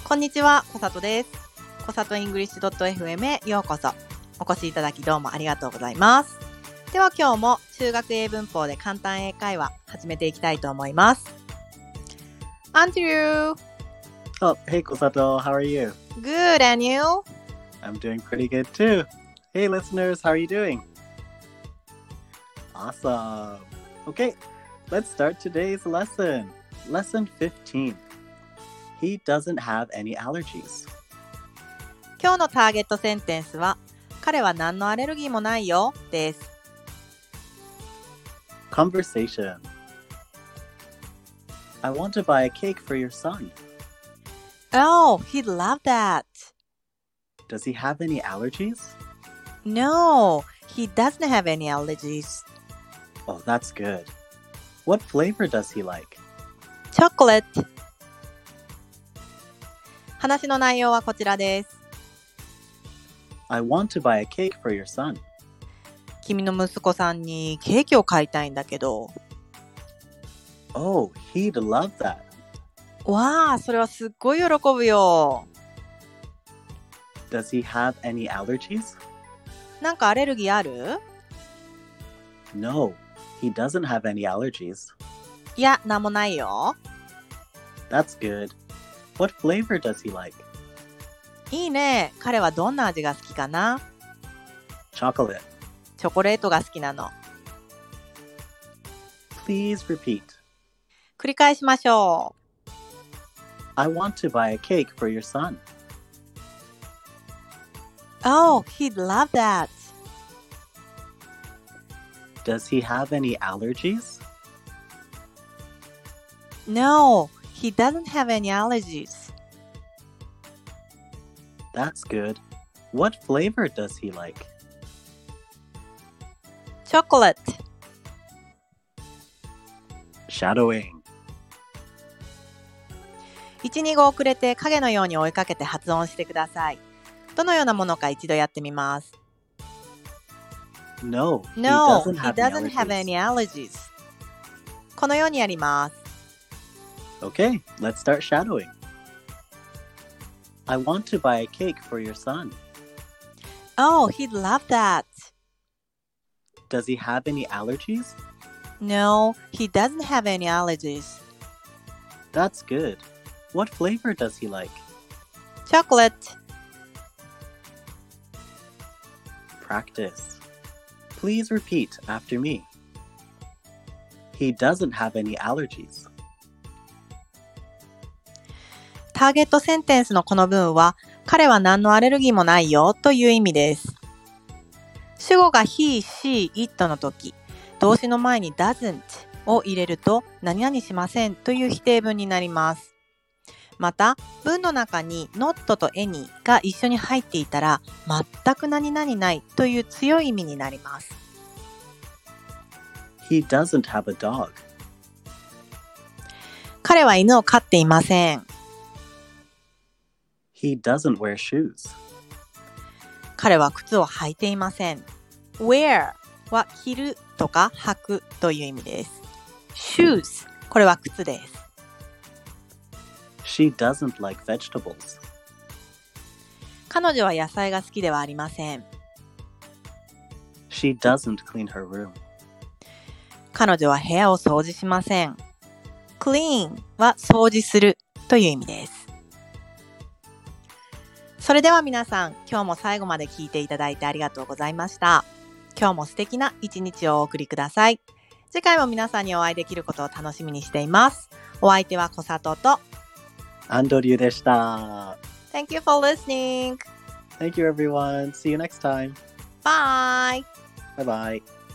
こんにちは、こさとです。こさとイングリッシュ .fm へようこそ。お越しいただきどうもありがとうございます。では今日も中学英文法で簡単英会話始めていきたいと思います。Andrew! Oh, hey Kosato, how are you? Good, and you? I'm doing pretty good too. Hey listeners, how are you doing? Awesome. Okay, let's start today's lesson. Lesson 15. He doesn't have any allergies. 今日のターゲットセンテンスは彼は何のアレルギーもないよです。 Conversation. I want to buy a cake for your son. Oh, he'd love that. Does he have any allergies? No, he doesn't have any allergies. Oh, that's good. What flavor does he like? Chocolate. 話の内容はこちらです。 I want to buy a cake for your son. 君の息子さんにケーキを買いたいんだけど。 Oh, he'd love that. わあ、それはすっごい喜ぶよ。 Does he have any allergies? なんかアレルギーある？ No, he doesn't have any allergies. いや、なんもないよ。 That's good. What flavor does he like? いいね。彼はどんな味が好きかな？ Chocolate. チョコレートが好きなの。 Please repeat. 繰り返しましょう。 I want to buy a cake for your son. Oh, he'd love that. Does he have any allergies? No, he doesn't have any allergies. That's good. What flavor does he like? Chocolate. Shadowing. 1、2語遅れて影のように追いかけて発音してください。どのようなものか一度やってみます。 No, he No, doesn't he have doesn't any have allergies. any allergies. このようにやります。 Okay, let's start shadowing. I want to buy a cake for your son. Oh, he'd love that. Does he have any allergies? No, he doesn't have any allergies. That's good. What flavor does he like? Chocolate. Practice. Please repeat after me. He doesn't have any allergies. ターゲットセンテンスのこの文は、彼は何のアレルギーもないよという意味です。主語が he, she, it の時、動詞の前に doesn't を入れると何々しませんという否定文になります。また、文の中に not と any が一緒に入っていたら、全く何々ないという強い意味になります。 He doesn't have a dog. 彼は犬を飼っていません。 He doesn't wear shoes. 彼は靴を履いていません。wear は着るとか履くという意味です。shoes これは靴です。 She doesn't like vegetables. 彼女は野菜が好きではありません。 She doesn't clean her room. 彼女は部屋を掃除しません。clean は掃除するという意味です。それでは皆さん、今日も最後まで聞いていただいてありがとうございました。今日も素敵な一日をお送りください。次回も皆さんにお会いできることを楽しみにしています。お相手は小里とアンドリューでした。 Thank you for listening. Thank you everyone. See you next time. Bye. Bye bye.